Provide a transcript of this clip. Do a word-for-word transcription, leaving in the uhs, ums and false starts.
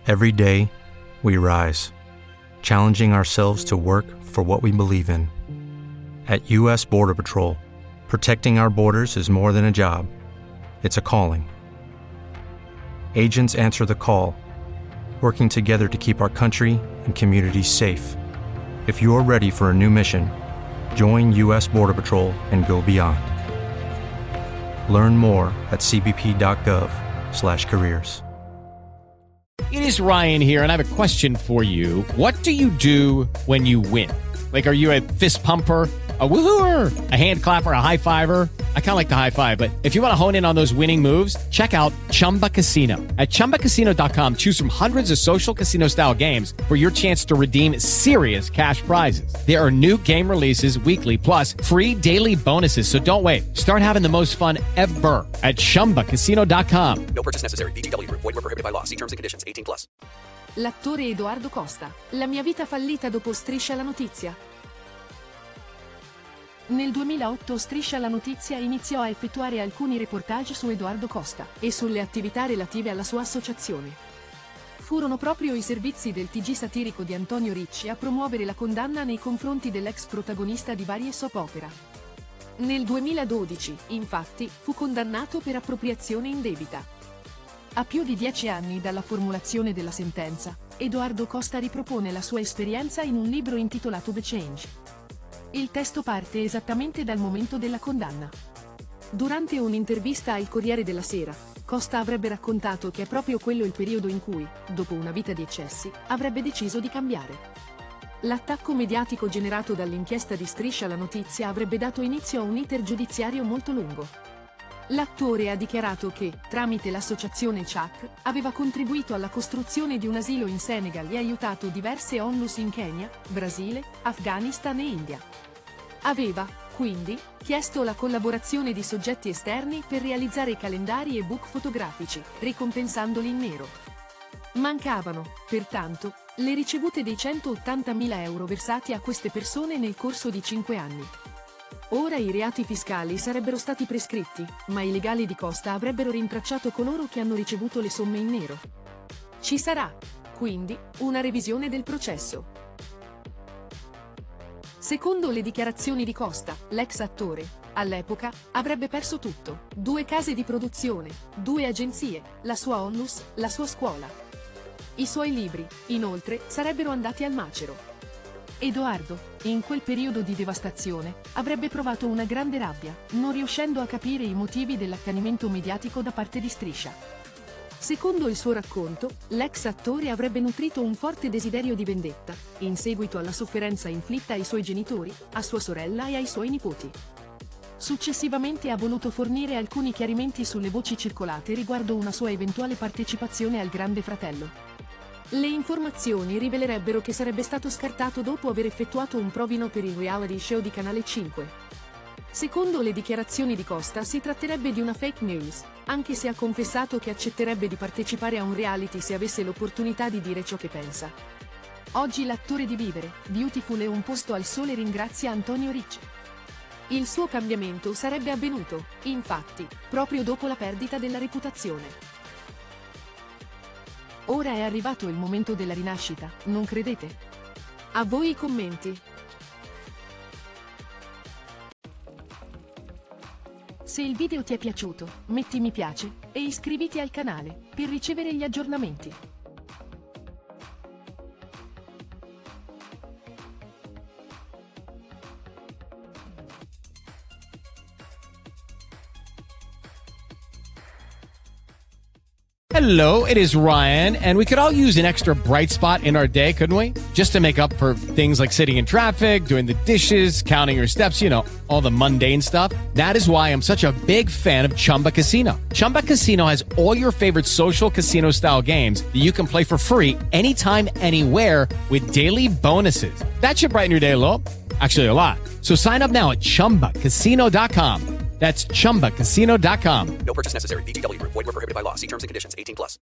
Every day, we rise, challenging ourselves to work for what we believe in. At U S Border Patrol, protecting our borders is more than a job. It's a calling. Agents answer the call, working together to keep our country and communities safe. If you're ready for a new mission, join U S Border Patrol and go beyond. Learn more at c b p dot gov slash careers. It is Ryan here, and I have a question for you. What do you do when you win? Like, are you a fist pumper, a woohooer, a hand clapper, a high fiver? I kind of like the high five, but if you want to hone in on those winning moves, check out Chumba Casino. At chumba casino dot com, choose from hundreds of social casino-style games for your chance to redeem serious cash prizes. There are new game releases weekly, plus free daily bonuses, so don't wait. Start having the most fun ever at chumba casino dot com. No purchase necessary. V G W Group. Void where prohibited by law. See terms and conditions. eighteen plus. L'attore Edoardo Costa. La mia vita fallita dopo Striscia la notizia. Nel duemilaotto Striscia la notizia iniziò a effettuare alcuni reportage su Edoardo Costa e sulle attività relative alla sua associazione. Furono proprio i servizi del T G satirico di Antonio Ricci a promuovere la condanna nei confronti dell'ex protagonista di varie soap opera. Nel duemiladodici, infatti, fu condannato per appropriazione indebita. A più di dieci anni dalla formulazione della sentenza, Edoardo Costa ripropone la sua esperienza in un libro intitolato The Change. Il testo parte esattamente dal momento della condanna. Durante un'intervista al Corriere della Sera, Costa avrebbe raccontato che è proprio quello il periodo in cui, dopo una vita di eccessi, avrebbe deciso di cambiare. L'attacco mediatico generato dall'inchiesta di Striscia la notizia avrebbe dato inizio a un iter giudiziario molto lungo. L'attore ha dichiarato che, tramite l'associazione C H A C, aveva contribuito alla costruzione di un asilo in Senegal e aiutato diverse onlus in Kenya, Brasile, Afghanistan e India. Aveva, quindi, chiesto la collaborazione di soggetti esterni per realizzare calendari e book fotografici, ricompensandoli in nero. Mancavano, pertanto, le ricevute dei centottantamila euro versati a queste persone nel corso di cinque anni. Ora i reati fiscali sarebbero stati prescritti, ma i legali di Costa avrebbero rintracciato coloro che hanno ricevuto le somme in nero. Ci sarà, quindi, una revisione del processo. Secondo le dichiarazioni di Costa, l'ex attore, all'epoca, avrebbe perso tutto: due case di produzione, due agenzie, la sua onlus, la sua scuola. I suoi libri, inoltre, sarebbero andati al macero. Edoardo, in quel periodo di devastazione, avrebbe provato una grande rabbia, non riuscendo a capire i motivi dell'accanimento mediatico da parte di Striscia. Secondo il suo racconto, l'ex attore avrebbe nutrito un forte desiderio di vendetta, in seguito alla sofferenza inflitta ai suoi genitori, a sua sorella e ai suoi nipoti. Successivamente ha voluto fornire alcuni chiarimenti sulle voci circolate riguardo una sua eventuale partecipazione al Grande Fratello. Le informazioni rivelerebbero che sarebbe stato scartato dopo aver effettuato un provino per il reality show di Canale cinque. Secondo le dichiarazioni di Costa si tratterebbe di una fake news, anche se ha confessato che accetterebbe di partecipare a un reality se avesse l'opportunità di dire ciò che pensa. Oggi l'attore di Vivere, Beautiful e Un posto al sole ringrazia Antonio Ricci. Il suo cambiamento sarebbe avvenuto, infatti, proprio dopo la perdita della reputazione. Ora è arrivato il momento della rinascita, non credete? A voi i commenti. Se il video ti è piaciuto, metti mi piace e iscriviti al canale per ricevere gli aggiornamenti. Hello, it is Ryan, and we could all use an extra bright spot in our day, couldn't we? Just to make up for things like sitting in traffic, doing the dishes, counting your steps, you know, all the mundane stuff. That is why I'm such a big fan of Chumba Casino. Chumba Casino has all your favorite social casino-style games that you can play for free anytime, anywhere with daily bonuses. That should brighten your day a little. Actually, a lot. So sign up now at chumba casino dot com. That's chumba casino dot com. No purchase necessary. V G W Group. Void where prohibited by law. See terms and conditions. eighteen plus.